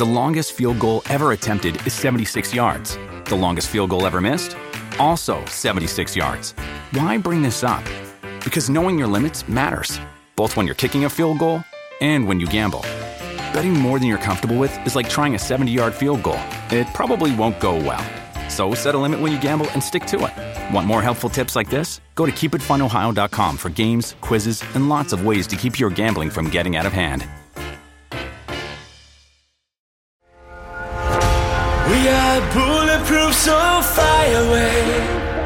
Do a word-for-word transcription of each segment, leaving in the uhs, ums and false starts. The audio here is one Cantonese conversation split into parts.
The longest field goal ever attempted is seventy-six yards. The longest field goal ever missed? Also seventy-six yards. Why bring this up? Because knowing your limits matters, both when you're kicking a field goal and when you gamble. Betting more than you're comfortable with is like trying a seventy-yard field goal. It probably won't go well. So set a limit when you gamble and stick to it. Want more helpful tips like this? Go to keep it fun ohio dot com for games, quizzes, and lots of ways to keep your gambling from getting out of hand. We are bulletproof, so fly away.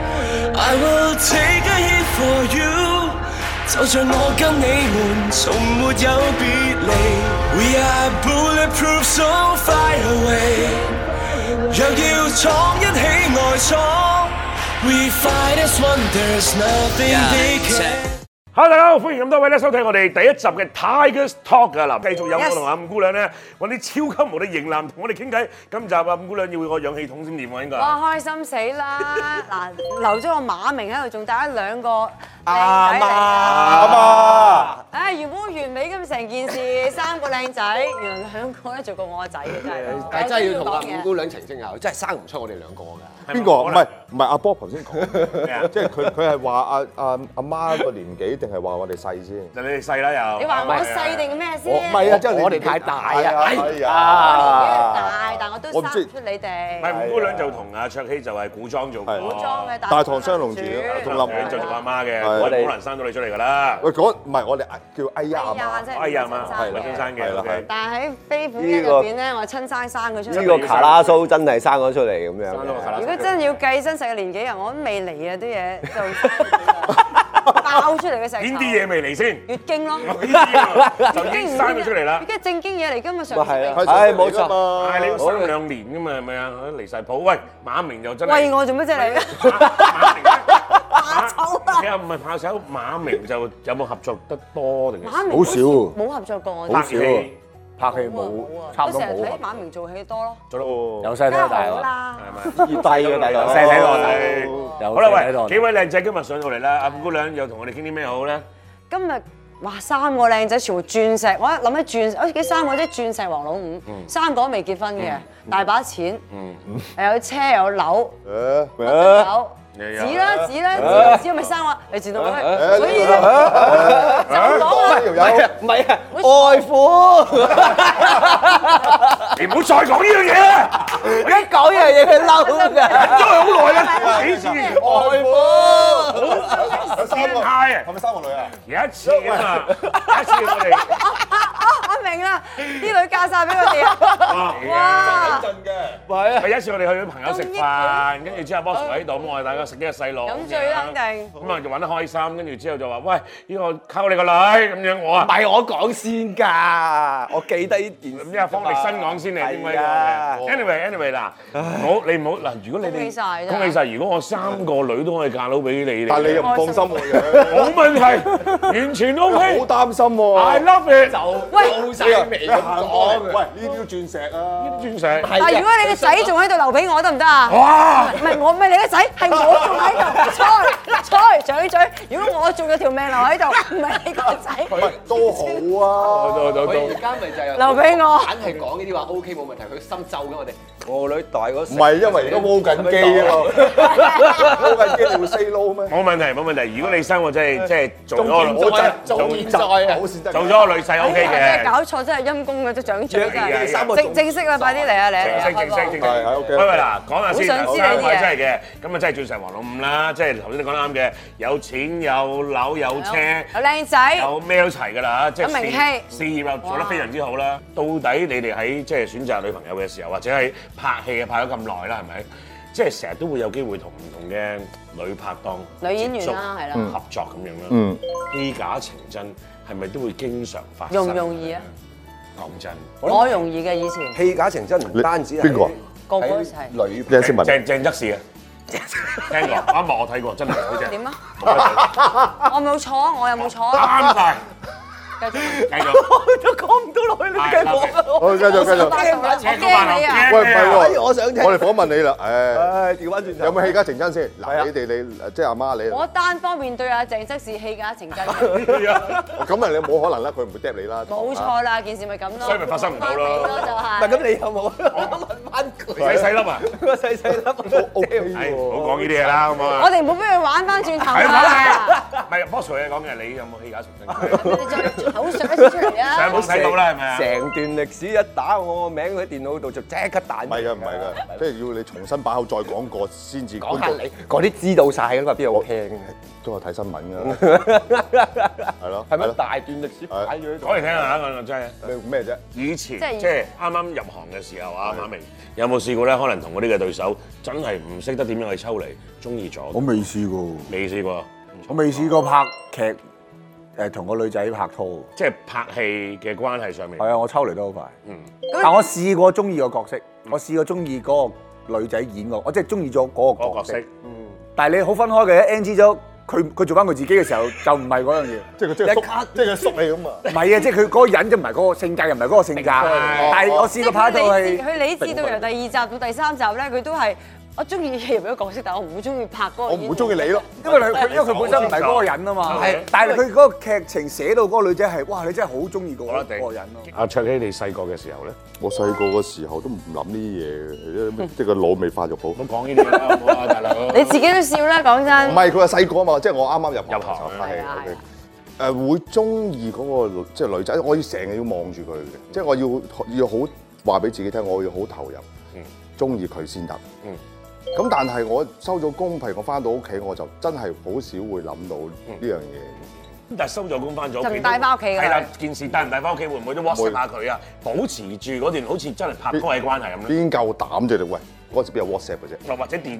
I will take a hit for you. 就像我跟你們從沒有別離。We are bulletproof, so fly away. 若要闖一起外闖 ，We fight as one, there's nothing they can。 Hello， 大家好，歡迎咁多位咧收睇我哋第一集嘅 Tigers Talk 啊！嗱，繼續有我同阿五姑娘咧揾啲超級無敵型男同我哋傾偈。今集啊，五姑娘要個氧氣筒先掂喎，應該。 哇！開心死啦！嗱，留咗個馬明喺度，仲帶咗兩個靚阿媽， 仔嚟。 阿媽， 唉，原本好完美咁成件事，三個靚仔，原來兩個咧做過我個仔嘅真係。 但係真係要同阿五姑娘澄清下，真係生唔出我哋兩個㗎。 邊個？唔係唔係阿波頭先講，即係佢佢係話阿阿阿媽個年紀定係話我哋細先？ 就你哋細啦又。 你話我細定咩先？ 唔係啊，即係我哋太大啊！ 係啊， 我大，但我都生唔出你哋。 唔係五姑娘就同阿卓希就係古裝做古裝嘅大唐雙龍傳， 同林就做阿媽嘅， 我哋好難生到你出嚟㗎啦。 喂，嗰唔係我哋叫哎呀阿媽， 哎呀媽，係親生嘅。 但係喺飛虎機入邊咧，我親生生佢出嚟。 呢個卡拉蘇真係生咗出嚟咁樣。 如果真要計真實嘅年紀啊，我都未嚟啊啲嘢就爆出嚟嘅石頭。 邊啲嘢未嚟先？ 月經咯， 呢啲就已經生咗出嚟啦。 月經正經嘢嚟㗎嘛，上次係啊，係冇錯。 係你要生兩年㗎嘛，係咪啊？離曬譜。喂，馬明又真係。 喂我做乜啫你？ 馬明怕醜啊！ 你又唔係怕醜，馬明就有冇合作得多定係？ 馬明好少， 冇合作過我哋。 拍戲。 拍戲冇，差唔多冇。 我成日睇馬明做戲多咯。 做得由細睇到大喎， 啦， 係咪？ 越低嘅大佬，細睇到大。 好啦，喂，幾位靚仔今日上到嚟啦，阿五姑娘又同我哋傾啲咩好咧？ 今日哇三個靚仔全部鑽石，我一諗起鑽石，我幾三個即係鑽石王老五，三個都未結婚嘅，大把錢，又有車有樓，有。指啦指啦指，咪生我，你知道咩？所以咧就講啦， 唔係啊，外父， 你唔好再講呢樣嘢啦！ 一講呢樣嘢佢嬲㗎， 忍咗好耐啦，幾次外父， 變態啊！ 係咪三個女啊？ 有一次啊嘛，有一次我哋， 我明啦，啲女嫁曬俾佢哋啊！哇！ 真嘅， 係啊， 咪有一次我哋去咗朋友食飯，跟住之後 boss 喺度，咁我哋大家食幾個細路， 飲醉啦肯定。 咁啊就玩得開心，跟住之後就話：喂，呢個溝你個女咁樣，我啊唔係我講先㗎，我記得呢件事。 咁即係方力申講先嚟，點解嘅 ？Anyway，anyway 嗱，唔好你唔好嗱，如果你哋恭喜曬恭喜曬，如果我三個女都可以嫁到俾你， 但係你又唔放心我嘅， 冇問題，完全 OK。 好擔心喎。 I love it。 就高曬眉咁講。 喂，呢啲都鑽石啊！ 呢啲鑽石。 但係如果你個仔仲喺度留俾我得唔得啊？ 哇！ 唔係我唔係你個仔，係我仲喺度。菜菜嘴嘴，如果我仲有條命留喺度，唔係你個仔。 喂，都好啊。 都都都。 佢而家咪就係留俾我。 硬係講呢啲話 OK 冇問題，佢心咒緊我哋。我女大嗰時。 唔係因為而家煲緊機啊嘛，煲緊機你會 say no 咩？ 冇問題冇問題，如果你生我真係即係做咗個仲健在啊！ 做咗個女婿 OK 真係嘅。 搞錯，真係陰公嘅都長長真係。 三個正正式啦，快啲嚟啊嚟啊！ 正式正式正式。 係係 OK。 喂喂嗱，講下先， 好想知三你啲嘢位真係嘅，咁啊真係鑽石王老五啦，即係頭先你講得啱嘅，有錢有樓有車。 有靚仔。 有咩都齊㗎啦，即係有名氣事業又做得非常之好啦。到底你哋喺即係選擇女朋友嘅時候，或者係拍戲啊拍咗咁耐啦，係咪？即係成日都會有機會同唔同嘅女拍檔、 女演員啦，係啦， 合作咁樣啦。 嗯， 虛假情真係咪都會經常發生？ 容唔容易啊？ 講真， 我容易嘅以前。 戲假情真唔單止係邊個？ 個個都係。 女鄭思文。 鄭鄭則仕啊，聽過啱啱我睇過，真係好正。 點啊？我冇錯啊，我有冇錯啊？ 啱晒。 繼續繼續。 都講唔到落去，你繼續。 好，繼續繼續。 我驚你啊！ 喂，唔係喎， 我想聽。 我哋訪問你啦，誒， 唉，調翻轉頭。 有冇戲家情真先？嗱，你哋你即係阿媽你。 我單方面對阿鄭則仕戲假情真。 咁啊，你冇可能啦，佢唔會嗒你啦。 冇錯啦，件事咪咁咯。 所以咪發生唔到咯。 就係。 唔係咁，你有冇？我問翻佢。 細細粒啊！ 個細細粒都 OK 係， 喎。 唔好講呢啲嘢啦，好冇啊？ 我哋唔好俾佢玩翻轉頭係啦。 唔係，Boss 你講嘅，你有冇戲假情真？ 你再口述一次出嚟啊！ 上網睇到啦，係咪啊？ 成段歷史一打我個名喺電腦度就即刻彈。 唔係㗎，唔係㗎，即係要你重新把口再講過先至。 講下你嗰啲知道晒㗎嘛，邊有好聽？ 都有睇新聞㗎，係咯。 係咪大段歷史擺咗喺度？ 講嚟聽下，我真係。 咩咩啫？ 以前即係即係啱啱入行嘅時候啊，馬明有冇試過咧？可能同嗰啲嘅對手真係唔識得點樣去抽離，中意咗。 我未試過， 未試過， 我未試過拍劇誒同個女仔拍拖。 即係拍戲嘅關係上面。 係啊，我抽離得好快。 嗯， 但我試過中意個角色，我試過中意嗰個女仔演個，我即係中意咗嗰個角色。嗯。但係你好分開嘅，N G 咗。佢佢做翻佢自己嘅時候就唔係嗰樣嘢， 即係佢即係縮，即係佢縮你咁啊！ 唔係啊，即係佢嗰個人就唔係嗰個性格，又唔係嗰個性格。但係我試過拍到係佢理智到由第二集到第三集咧，佢都係我中意入咗角色，但係我唔會中意拍嗰個。 我唔會中意你咯， 因為佢因為佢本身唔係嗰個人啊嘛。係，但係佢嗰個劇情寫到嗰個女仔係，哇！你真係好中意嗰個人咯。 阿卓羲，你細個嘅時候咧？ 我細個嘅時候都唔諗呢啲嘢嘅，即係個腦未發育好。 唔好講呢啲啦，好唔好啊，大佬？ 你自己都笑啦，講真。 唔係佢話細個啊嘛，即係我啱啱入入行拍戲。誒會中意嗰個即係女仔，我要成日要望住佢嘅，即係我要要好話俾自己聽，我要好投入，中意佢先得。咁但係我收咗工，譬如我翻到屋企，我就真係好少會諗到呢樣嘢。 咁但係收咗工翻咗屋企， 就唔帶翻屋企㗎。 係啦，件事帶唔帶翻屋企，會唔會都 WhatsApp 下佢啊？保持住嗰段好似真係拍拖嘅關係咁咧？ 邊夠膽啫你？喂，嗰時邊有 WhatsApp 嘅啫？ 或者電？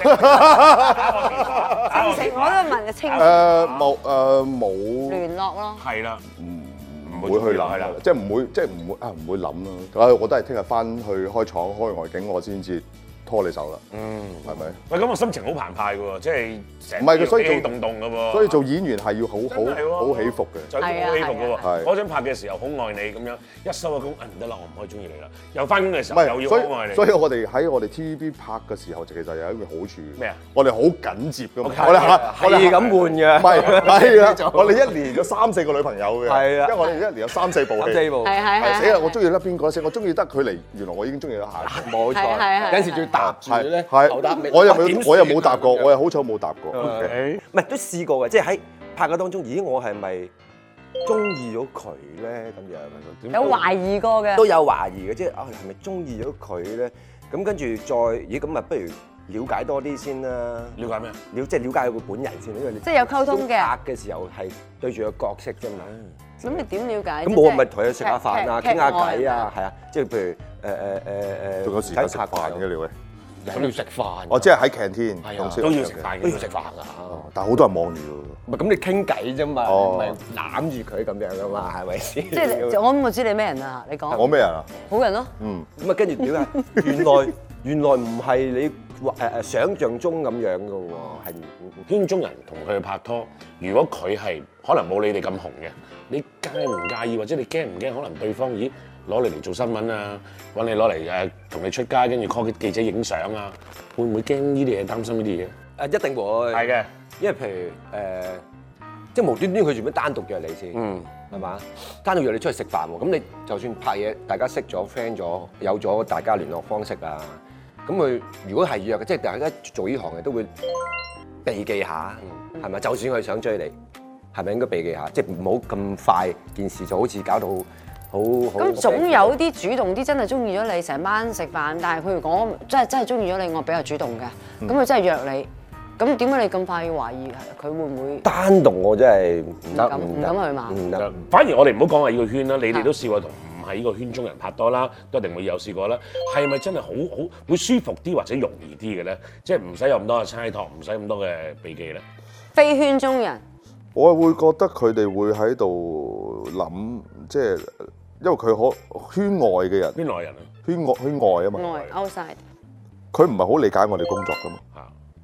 成成我都問清楚。 誒冇誒冇聯絡咯。 係啦， 唔會去諗啦，即係唔會即係唔會啊唔會諗咯。啊，我都係聽日翻去開廠開外景，我先至拖你手啦。嗯，係咪？ 喂，咁我心情好澎湃嘅喎，即係成唔係佢，所以氣動動嘅喎。 所以做演員係要好好好起伏嘅， 就好起伏嘅喎。 係嗰陣拍嘅時候好愛你咁樣，一收咗工，唔得啦，我唔可以中意你啦。又翻工嘅時唔候又要係，所好愛你。 以所以我哋喺我哋 T V B 拍嘅時候，其實有一個好處。 咩啊？ 我哋好緊接㗎嘛， 我哋嚇我哋咁換嘅。 唔係係啊，我哋一年有三四個女朋友嘅。 係啊， 因為我哋一年有三四部戲。 四部。 係係係。 死啦！我中意得邊個先？我中意得佢嚟，原來我已經中意咗下一個。 冇錯。有時仲要搭住咧。 係，我又冇，我又冇答過，我又好彩冇答過。 唔係都試過嘅，即係喺拍嘅當中，咦，我係咪中意咗佢咧？咁樣有懷疑過嘅。 都有懷疑嘅，即係啊，係咪中意咗佢咧？咁跟住再，咦，咁啊，不如了解多啲先啦。 了解咩？ 了即係了解佢本人先，因為你即係有溝通嘅。 拍嘅時候係對住個角色啫嘛。 咁你點了解？ 咁我咪同佢食下飯啊，傾下偈啊，係啊，即係譬如誒誒誒誒， 仲有時間食飯嘅你會？ 咁要食飯。 我即係喺 canteen 都要食飯， 都要食飯㗎。 但係好多人望住喎。 唔係咁你傾偈啫嘛，唔係攬住佢咁樣㗎嘛，係咪先？ 即係我諗我知你咩人啊？你講。 我咩人啊？ 好人咯。 嗯。 咁啊，跟住點啊？原來原來唔係你誒誒想像中咁樣㗎喎，係圈中人同佢拍拖，如果佢係可能冇你哋咁紅嘅，你介唔介意或者你驚唔驚？可能對方咦攞你嚟做新聞啊，揾你攞嚟誒同你出街，跟住 call 記者影相啊，會唔會驚呢啲嘢？擔心呢啲嘢？ 誒一定會。係嘅，因為譬如誒，即係無端端佢做咩單獨約你先？嗯，係嘛？單獨約你出去食飯喎，咁你就算拍嘢，大家識咗 friend 咗，有咗大家聯絡方式啊，咁佢如果係約嘅，即係大家做呢行嘅都會避忌下，係咪？就算佢想追你，係咪應該避忌下？即係唔好咁快件事就好似搞到好好。 咁總有啲主動啲，真係中意咗你，成班食飯，但係佢如果真係真係中意咗你，我比較主動嘅，咁佢真係約你，咁點解你咁快要懷疑佢會唔會？ 單獨我真係唔得， 唔敢去嘛。 唔得。 反而我哋唔好講話呢個圈啦，你哋都試過同唔係呢個圈中人拍拖啦，都一定會有試過啦。係咪真係好好會舒服啲或者容易啲嘅咧？即係唔使有咁多嘅猜託，唔使咁多嘅避忌咧。非圈中人， 我會覺得佢哋會喺度諗，即係因為佢可圈外嘅人， 圈內人啊， 圈外圈外啊嘛， 外 outside， 佢唔係好理解我哋工作噶嘛。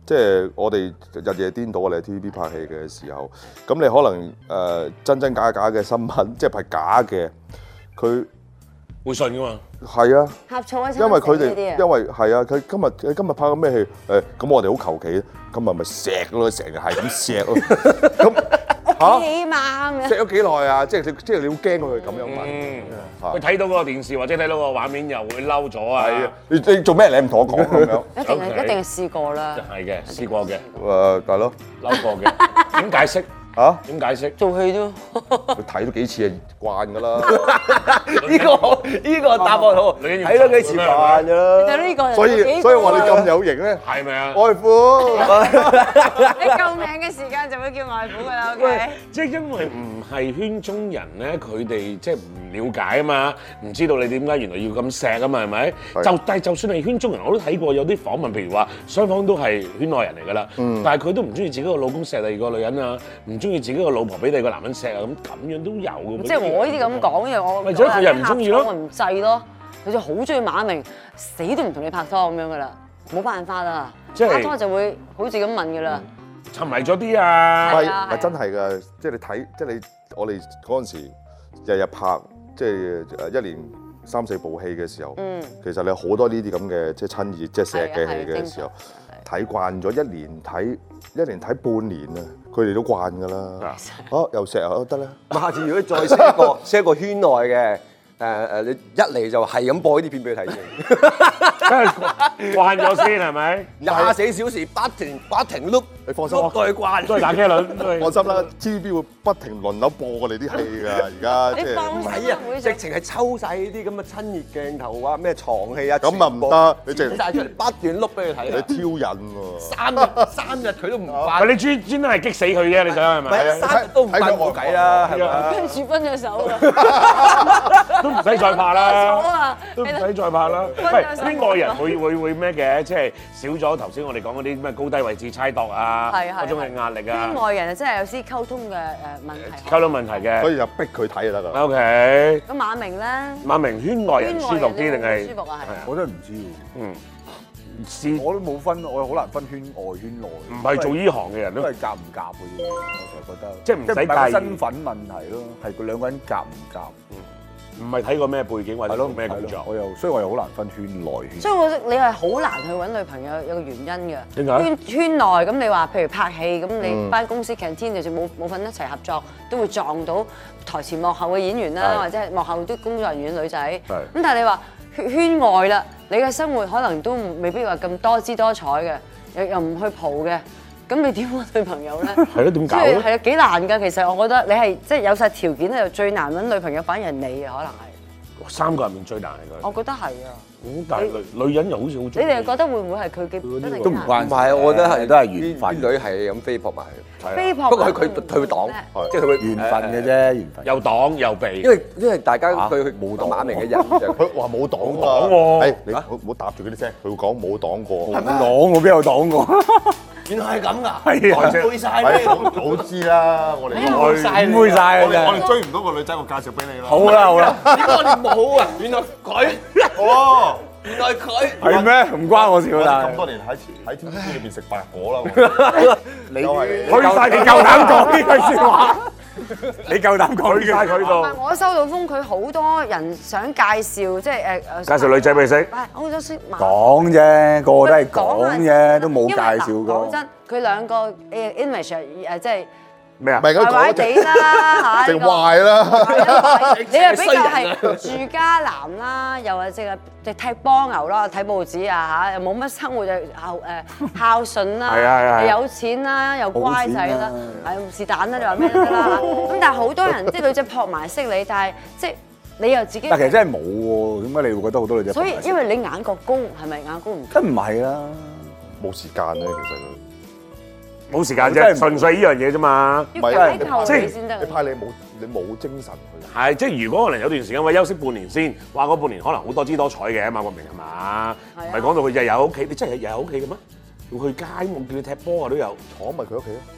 即係我哋日夜顛倒，我哋喺 T V B 拍戲嘅時候，咁你可能誒、呃、真真假假嘅新聞，即係係假嘅，佢會信噶嘛？ 係啊， 呷醋一餐因為佢死呢啲啊哋因為係啊，佢今日佢今日拍緊咩戲？誒咁我哋好求其，今日咪錫咯，成日係咁錫咯，咁。 嚇！起碼咁樣錫咗幾耐啊？即係你即係你好驚佢咁樣問。 嗯，佢睇到嗰個電視或者睇到個畫面又會嬲咗啊！ 係啊，你你做咩？你唔同我講咁樣？ 一定係一定係試過啦。 係嘅，試過嘅。 誒，大佬嬲過嘅。點解釋？ 嚇？ 點解釋？ 做戲啫。 佢睇咗幾次係慣㗎啦。 呢個呢個答案好，睇咗幾次慣㗎啦。 就呢個。 所以所以話你咁有型咧， 係咪啊？ 外父。 你救命嘅時間就會叫外父㗎啦，OK？ 即係因為唔係圈中人咧，佢哋即係唔了解啊嘛，唔知道你點解原來要咁錫啊嘛，係咪？就但係就算係圈中人，我都睇過有啲訪問，譬如話雙方都係圈內人嚟㗎啦，但係佢都唔中意自己個老公錫第二個女人啊，唔中意自己個老婆俾第二個男人錫啊，咁咁樣都有嘅。 即係我呢啲咁講，因為我或者佢又唔中意咯， 我唔制咯。佢就好中意馬明，死都唔同你拍拖咁樣㗎啦，冇辦法啦。 即係拍拖就會好似咁問㗎啦。 沉迷咗啲啊！ 係係真係㗎，即係你睇，即係你我哋嗰陣時日日拍，即係誒一年三四部戲嘅時候，其實你好多呢啲咁嘅即係親熱、即係錫嘅戲嘅時候，睇慣咗一年睇一年睇半年啊，佢哋都慣㗎啦。哦，又錫啊，得啦。 下次如果再 set 個 set 個圈內嘅。誒誒，你一嚟就係咁播呢啲片俾佢睇先， 慣咗先係咪？ 廿四小時不停不停碌， 你放心， 碌到佢慣， 都係打機輪。 放心啦 ，T V B 會不停輪流播我哋啲戲㗎，而家即係。 唔係啊，直情係抽晒呢啲咁嘅親熱鏡頭啊，咩床戲啊， 咁啊唔得，你直剪曬出嚟不斷碌俾佢睇。 你挑釁喎。 三日三日佢都唔慣。 你專專登係激死佢啫，你想係咪？ 係三日都唔慣冇計啦，係咪？ 跟住分咗手啦。 唔使再拍啦， 啊、 都唔使再拍啦。喂，啲外人會會會咩嘅？即係少咗頭先我哋講嗰啲咩高低位置猜度啊，嗰種嘅壓力啊。 啲外人啊，真係有啲溝通嘅誒問題。 溝通問題嘅， 所以就逼佢睇就得㗎。 O K。 咁馬明咧？ 馬明圈外人舒服啲定係？ 舒服啊，係。 我真係唔知喎。 嗯。試我都冇分，我好難分圈外圈內。 唔係做呢行嘅人都都係夾唔夾嘅啫，我成日覺得。 即係唔使介意身份問題咯，係佢兩個人夾唔夾。 唔係睇過咩背景或者做咩工作， 我又所以我又好難分圈內圈。 所以我覺得你係好難去揾女朋友，有個原因嘅。 點解？ 圈圈內咁你話，譬如拍戲咁，你班公司 canteen 就算冇冇份一齊合作，都會撞到台前幕後嘅演員啦，或者係幕後啲工作人員女仔。咁但係你話圈圈外啦，你嘅生活可能都未必話咁多姿多彩嘅，又又唔去蒲嘅。咁你點揾女朋友咧？ 係咯，點搞咧？ 係啊，幾難㗎。其實我覺得你係即係有晒條件咧，就最難揾女朋友，反而係你啊，可能係。 三個入面最難係佢。 我覺得係啊。 咁但係女女人又好似好中意。 你哋覺得會唔會係佢嘅真係都唔關？ 唔係，我覺得係都係緣分。 啲女係咁飛撲埋去。 飛撲。 不過佢佢佢會擋，即係佢會緣分嘅啫，緣分。 又擋又避。 因為因為大家對冇擋馬明嘅人就佢話冇擋冇擋喎。 誒，你唔好唔好搭住嗰啲聲，佢會講冇擋過。 係咩？擋我邊有擋過？ 原來係咁㗎， 係啊， 背曬咩？ 早知啦，我哋唔會晒嘅我哋追唔到個女仔，我介紹俾你啦。 好啦好啦， 點解我哋冇啊？原來佢哦， 原來佢係咩？唔關我事我啦。 咁多年喺喺 T V B 裏邊食白果啦。 你又係去晒，你夠膽講呢句説話？你夠膽講去晒佢度。 我收到風，佢好多人想介紹，即係誒誒。 介紹女仔俾你識。 係，我好想識馬。 講啫，個個都係講啫，都冇介紹過。 講真，佢兩個誒 image 誒即係咩啊？ 唔係壞壞地啦嚇， 食壞啦。 你又比較係住家男啦，又或者係即踢波牛啦，睇報紙啊嚇，又冇乜生活就孝誒孝順啦，有錢啦，又乖仔啦，係是但啦，你話咩都得啦。咁但係好多人即係女仔撲埋識你，但係即係你又自己。 但其實真係冇喎，點解你會覺得好多女仔？ 所以因為你眼角高，係咪眼高唔？ 梗唔係啦， 冇時間咧，其實佢。 冇時間啫，純粹呢樣嘢啫嘛。 要睇透你先得。 你怕你冇你冇精神去。 係，即係如果可能有段時間，喂休息半年先，話嗰半年可能好多姿多彩嘅，馬國明係嘛？唔係講到佢日日喺屋企，你真係日日喺屋企嘅咩？要去街，我叫你踢波啊都有。 坐咪佢屋企咯。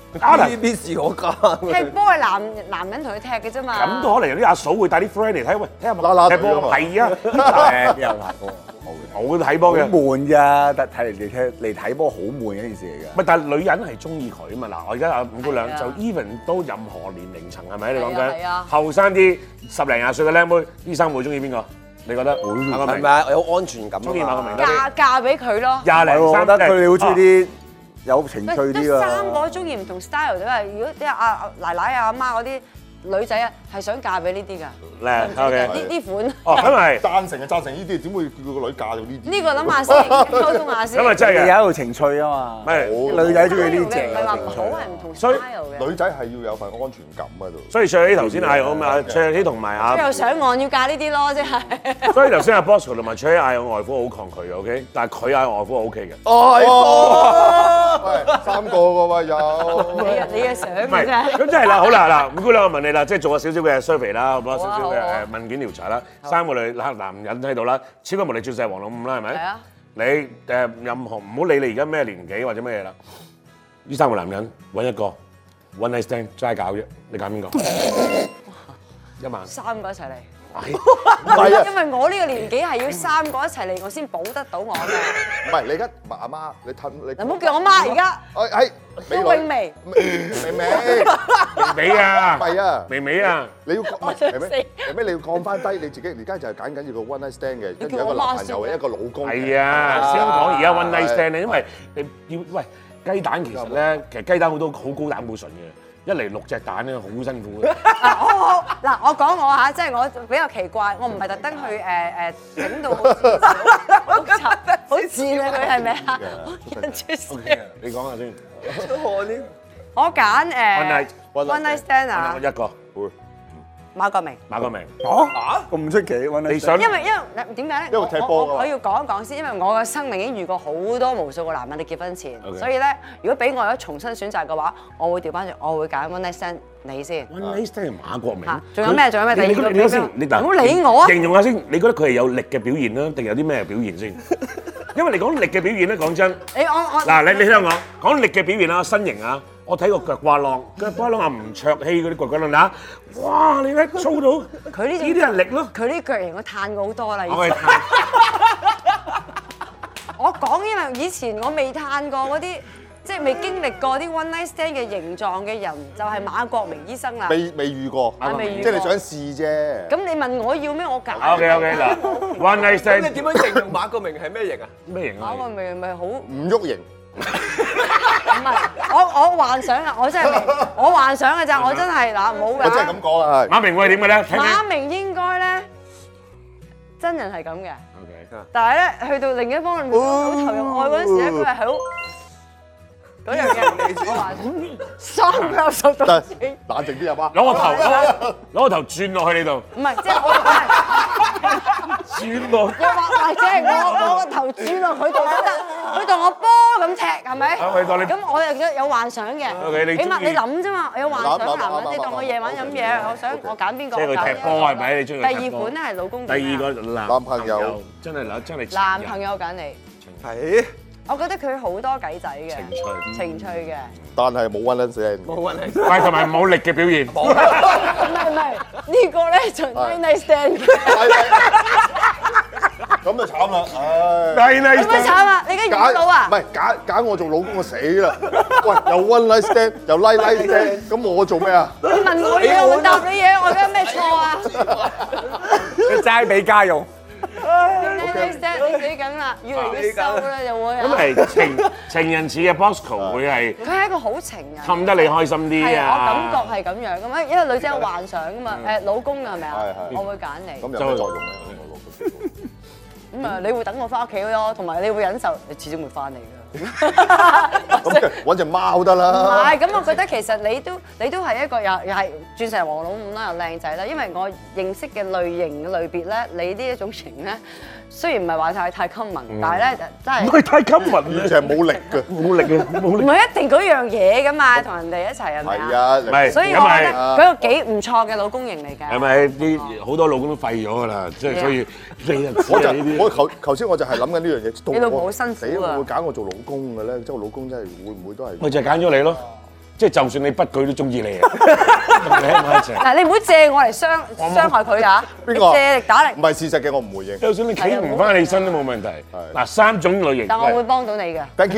，T V B 是我家。 踢波係男男人同佢踢嘅啫嘛。 咁都可能有啲阿嫂會帶啲 friend 嚟睇，喂，睇下啦啦踢波係啊， 誒有睇波冇冇睇波嘅。 好悶咋，但睇嚟嚟睇嚟睇波好悶嘅一件事嚟㗎。 唔係，但係女人係中意佢啊嘛。嗱，我而家阿五姑娘係啊就 even 都任何年齡層係咪？你講係啊係緊啊後生啲十零廿歲嘅靚妹，醫生會中意邊個？你覺得？馬國明係咪啊？有安全感啊嘛。 中意馬國明多啲。 嫁嫁俾佢咯。 廿零我覺三得佢哋好中意啲有情趣得啲啊。 三個中意唔同 style 啫嘛。如果啲阿阿奶奶啊、阿媽嗰啲女仔啊，係想嫁俾呢啲㗎。 靚，OK。 呢呢款。 哦，咁係。 贊成啊，贊成呢啲，點會叫個女嫁到呢啲？ 呢個諗下先，溝通下先。 咁啊真係嘅。 有一度情趣啊嘛。 唔係女仔中意呢隻唔係話唔好情趣。 係唔同所以 style 嘅。 女仔係要有份安全感喺度。 所以卓希頭先嗌我嘛，卓希同埋阿， 又上岸要嫁呢啲咯，即係。 所以頭先阿 Bosco 同埋卓希嗌我外父好抗拒嘅，OK，但係佢嗌我外父 OK 嘅。 哦，喂，三個個喎有。 你啊你嘅想唔係， 嘅啫。 咁即係啦，好啦，嗱，五姑娘我問你啦，即係做咗少少嘅 survey 啦，好唔好？少少嘅好啊誒問卷調查啦，三個女男男人喺度啦，超級無敵鑽石王老五啦，係咪？ 係啊。 你誒任何唔好理你而家咩年紀或者咩嘢啦，呢三個男人揾一個 one night stand 齋搞啫，你揀邊個？一萬。 三個一齊嚟。 唔係啊， 因為我呢個年紀係要三個一齊嚟，我先保得到我嘅。 唔係你而家阿媽，你褪你。 你唔好叫我媽而家。 誒係。 張永薇。 微微。 微微啊！ 係啊。 微微啊！ 你要唔我想係咩？係咩？你要降翻低你自己，而家就係揀緊要個 one night stand 嘅，跟住一個男朋友，一個老公。 係啊，先講而家 one night stand 咧，因為你要喂雞蛋其實咧，其實雞蛋好多好高膽固醇嘅。一嚟六隻蛋咧，好辛苦嘅。 好好嗱，我講我嚇，即係我比較奇怪，我唔係特登去誒誒整到好似好雜好賤啊！佢係咪啊？人出聲。 你講下先。 我揀誒 One night one night stand 啊， 一個。 馬國明。 馬國明。 嚇咁出奇揾你你想？ 因為因為點解咧？ 因為踢波㗎嘛我我我要講一講先，因為我嘅生命已經遇過好多無數個男人，你結婚前， Okay. 所以咧，如果俾我有重新選擇嘅話，我會調翻轉，我會揀 one night stand 你先。 One night stand 馬國明。 嚇，仲有咩？仲有咩？第你二個你你先，你唔好理我啊！ 形容下先，你覺得佢係有力嘅表現啦，定有啲咩表現先？因為你講力嘅表現咧，講真， 你我我嗱，你你聽我講力嘅表現啊，身形啊，我睇過腳瓜浪，腳瓜浪啊，吳卓羲嗰啲腳瓜浪啊，哇！你咧粗到佢呢種呢啲係力咯， 佢呢腳型我嘆過好多啦。以前我係睇我講，因為以前我未嘆過嗰啲，即係未經歷過啲 one night stand 嘅形狀嘅人，就係馬國明醫生啦。 未未遇過， 我未遇過即係你想試啫。 咁你問我要咩？我揀。 OK OK 嗱，one night 咁你 stand 點樣形容馬國明係咩型啊？ 咩型啊馬？國明咪好唔唔喐型， 係我我幻想啊！我真係未我幻想嘅咋，我真係嗱冇我真係咁㗎。 講啊，係。 馬明會係點嘅咧？聽聽。 馬明應該咧真人係咁嘅， OK。 但係咧去到另一方面好投入愛嗰陣時咧，佢係好嗰樣嘅。我幻想三百六十度得轉。 冷靜啲啊媽。 攞個頭攞攞個頭轉落去你度， 唔係，即係我係轉落。 又或或者係我我個頭轉落佢度都得，佢當我波咁踢係咪？ 啊佢當你咁我又有有幻想嘅。 OK，你中意起碼你諗啫嘛，我有幻想諗諗男人， 諗你當我夜晚飲嘢，我想我揀邊個？ 即係佢踢波係咪？你中意佢第踢波二款咧係老公。 第二個男男朋友真係嗱，真係男朋友揀你， 係我覺得佢好多計仔嘅， 情趣， 情趣嘅。 但係冇 one night stand。 冇運氣。 喂，同埋冇力嘅表現。 唔係唔係，呢個咧就 one night stand 嘅。 咁就慘啦，唉。 係啦， 有咩慘啊？你而家遇到啊唔？係揀揀我做老公，我死啦！喂，又 one night stand，又 night night stand，咁我做咩啊？ 你問我嘢，我答你嘢，我有咩錯啊？ 你齋俾家用。 你死緊啦，越嚟越瘦啦，就會咁係情情人似嘅 Bosco 會係佢係一個好情人， 氹得你開心啲係啊，我啊！ 感覺係咁樣噶嘛，因為女仔有幻想噶嘛，誒老公係咪啊係？係我會揀你， 咁有咩作用咧？ 咁啊你會等我翻屋企咯，同埋你會忍受，你始終會翻嚟㗎。 咁揾隻貓得唔啦。 係，咁我覺得其實你都你都係一個又又係鑽石王老五啦，又靚仔啦。因為我認識嘅類型嘅類別咧，你呢一種型咧，雖然唔係話太太 common，但係咧真係唔係太襟民就係冇力嘅。 冇力嘅，冇力。 唔係一定嗰樣嘢噶嘛，同人哋一齊係咪啊？ 係啊， 唔係所以我覺得佢個幾唔錯嘅老公型嚟㗎。 係咪啲好多老公都廢咗㗎啦？即係所以你就知我就啊呢啲。 我頭頭先我就係諗緊呢樣嘢。 你老婆好辛苦啊死會唔會揀我做老公嘅咧？即係我老公真係會唔會都係？ 咪就係揀咗你咯。 即係就算你不佢都中意你啊！同你喺埋一齊。 嗱，你唔好借我嚟傷傷害佢㗎。 邊個？ 借力打力唔。係事實嘅，我唔回應。 就算你企唔翻起身都冇問題。嗱，三種類型。 但我會幫到你嘅。 Thank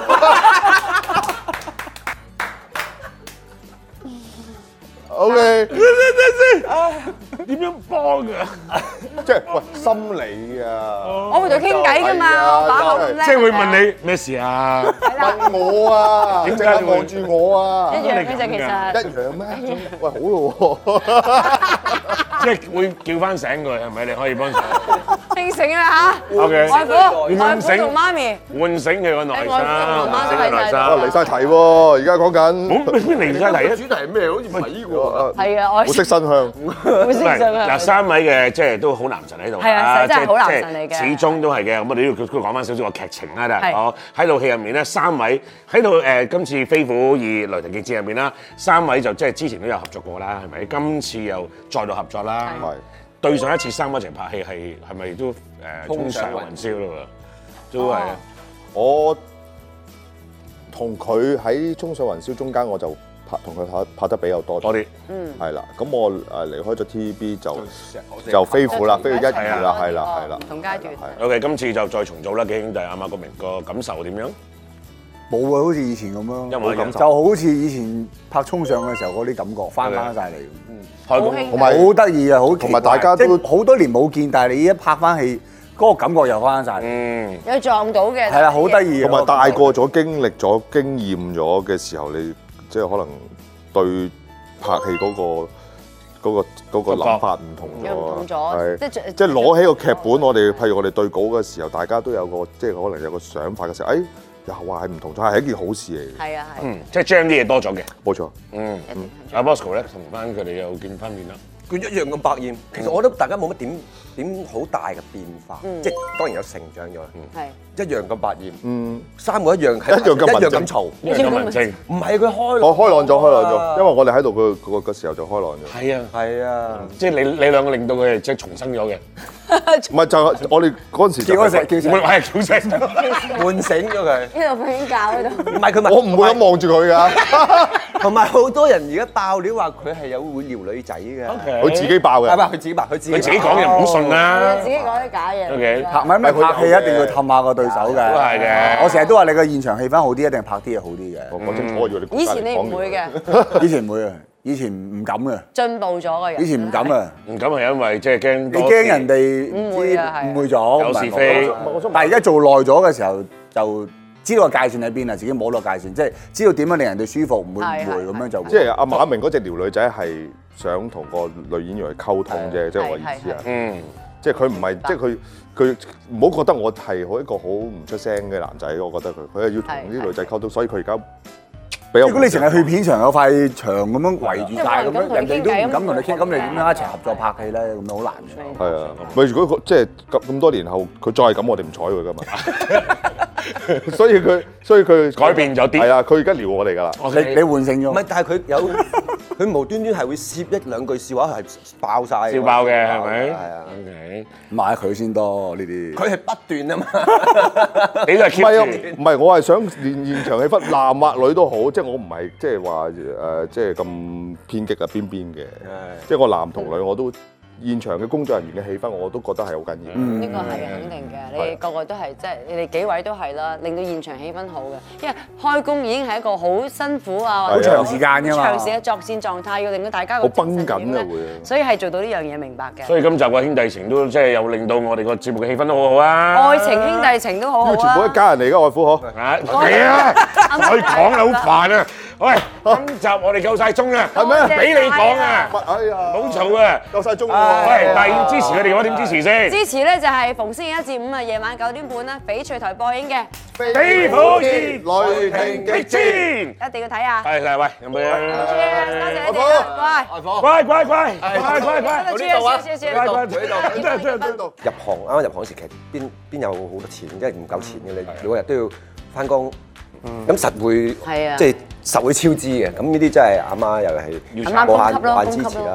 you。OK。 點樣幫㗎？ 即係喂心理啊！ 我會同佢傾偈㗎嘛，我把口咁叻。 即係會問你咩事啊？ 問我啊！ 點解淨係望住我啊？ 一樣嘅啫，其實。 一樣咩？喂，好咯喎！ 即係會叫翻醒佢係咪？你可以幫手。 清醒啦嚇 OK 外父， 點外父樣醒同媽咪。 喚醒佢個內心， 外父同媽咪係啊離晒題喎！而家講緊。 好離晒題啊！ 主題係咩？好似唔係呢個。 係啊，我好識新香。 好識上啊。 嗱，三位嘅即係都好男神喺度。 係啊真係好男即係神嚟嘅始終都係嘅。咁我哋都要講翻少少個劇情啦， 係我喺套戲入面咧，三位喺度誒，今次《飛虎二雷霆極戰》入面啦，三位就即係之前都有合作過啦，係咪？今次又再度合作啦。 係。 對上一次三位一齊拍戲係係咪都誒衝上雲霄咯喎？都係。 我同佢喺《衝上雲霄》中間，我就拍同佢拍拍得比較多多啲。 嗯。 係啦，咁我誒離開咗 T V B 就就飛虎啦，飛虎一二啦，係啦，係啦。 唔同階段。 OK， 今次就再重組啦，幾兄弟阿馬國明個感受點樣？ 冇啊，好似以前咁咯， 一模一樣就好似以前拍衝上嘅時候嗰啲感覺翻翻晒嚟。 開工同埋好得意啊，好同埋大家都好多年冇見，但係你一拍翻戲，嗰個感覺又翻晒嚟。 嗯。 有撞到嘅。 係啦，好得意。 同埋大個咗、經歷咗、經驗咗嘅時候，你即係可能對拍戲嗰個嗰個嗰個諗法唔同咗。 唔同咗。 係。 即係即係攞起個劇本，我哋譬如我哋對稿嘅時候，大家都有個即係可能有個想法嘅時候，誒又話係唔同咗，係一件好事嚟嘅。 係啊係。 嗯，即係將啲嘢多咗嘅。 冇錯。 嗯。阿 Bosco 咧，同翻佢哋又見翻面啦。 佢一樣咁百厭，其實我覺得大家冇乜點點好大嘅變化，即係當然有成長咗， 係一樣咁百厭， 嗯， 三個一樣係一樣咁一樣文靜咁嘈， 一樣咁文靜。 唔係佢開我開朗咗，開朗咗，因為我哋喺度個個個時候就開朗咗。 係啊， 係啊， 即係你你兩個令到佢哋即係重生咗嘅。 唔係就係我哋嗰陣時就叫嗰隻叫唔係係叫聲。 喚醒咗佢。 呢度瞓覺喺度。 唔係佢咪我唔會咁望住佢㗎。 同埋好多人而家爆料話佢係有會撩女仔嘅， 佢自己爆嘅。 係咪佢自己爆？佢自己佢自己講又唔好信啦。 自己講啲假嘢。 OK。 拍唔係咩拍戲一定要氹下個對手嘅。 都係嘅。 我成日都話你個現場氣氛好啲，一定拍啲嘢好啲嘅。 我講清楚，我以為你以前你唔會嘅。 以前唔會啊，以前唔敢嘅。 進步咗嘅人。 以前唔敢啊。 唔敢係因為即係驚。 你驚人哋誤會啊係。 誤會咗。 有是非。 但係而家做耐咗嘅時候就。知道個界線喺邊啊，自己摸到界線，即係知道點樣令人哋舒服，唔會誤會咁樣就。 即係阿馬明嗰隻撩女仔係想同個女演員去溝通啫，即係我意思啊。嗯。即係佢唔係，即係佢佢唔好覺得我係好一個好唔出聲嘅男仔，我覺得佢佢係要同啲女仔溝通，所以佢而家比較。如果你淨係去片場有塊牆咁樣圍住晒咁樣，人哋都唔敢同你傾，咁你點樣一齊合作拍戲咧？咁樣好難嘅。 係啊，咪如果即係咁咁多年後，佢再係咁，我哋唔睬佢噶嘛。所以佢，所以佢改變咗啲。 係啊，佢而家撩我哋㗎啦。 你你喚醒咗。 唔係，但係佢有佢無端端係會攝一兩句笑話係爆曬。 笑爆嘅係咪？ 係啊。 OK。 買佢先多呢啲。 佢係不斷啊嘛。 你都係 keep 住。唔係，我係想練現場氣氛，男或女都好，即係我唔係即係話誒，即係咁偏激啊邊邊嘅。即係我男同女我都。現場嘅工作人員嘅氣氛，我都覺得係好緊要。 呢個係肯定嘅，你個個都係即係你哋幾位都係啦，令到現場氣氛好嘅。因為開工已經係一個好辛苦啊， 好長時間㗎嘛， 長時嘅作戰狀態，要令到大家好繃緊啊會。 所以係做到呢樣嘢明白嘅。 所以今集嘅兄弟情都即係又令到我哋個節目嘅氣氛都好好啊。 愛情兄弟情都好好啊。 全部一家人嚟㗎，外父嗬。 係啊，可以講啦，好煩啊！喂，今集我哋夠曬鐘啦， 係咩？ 俾你講啊！ 哎呀， 冇嘈啊， 夠曬鐘喎。 喂，但係要支持佢哋嘅話，點支持先？ 支持咧就係逢星期一至五啊，夜晚九點半啦，翡翠台播映嘅 《飛虎二雷霆極戰》， 一定要睇啊！ 係係，喂，有冇嘢？ 多謝你哋啊，乖， 乖乖乖，乖乖乖， 呢度啊，謝謝， 乖乖，呢度，呢度， 入行啱啱入行時，其實邊邊有好多錢，因為唔夠錢嘅你，每個日都要翻工。咁實會，即係實會超支嘅。咁呢啲真係阿媽又係無限無限支持啦。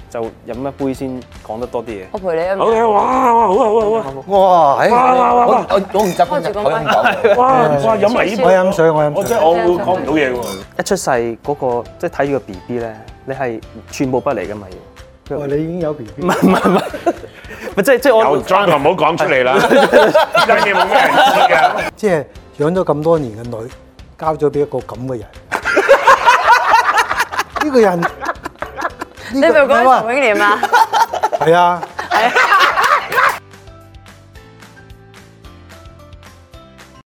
就飲一杯先講得多啲嘢。 我陪你啊！ 好嘅，哇哇好啊好啊好啊！ 哇！ 哇哇哇哇！ 我我唔習慣口音講。 哇哇飲埋呢杯， 我飲水，我飲水。 我真係我會講唔到嘢喎。 一出世嗰個即係睇住個 B B 咧，你係寸步不離㗎嘛要。 哇！你已經有 B B。 唔係唔係唔係，咪即係即係我。 有 John 唔好講出嚟啦，呢單嘢冇咩人知㗎。 即係養咗咁多年嘅女，交咗俾一個咁嘅人。呢個人， 你咪講陳永廉啊？ 係啊。 係啊。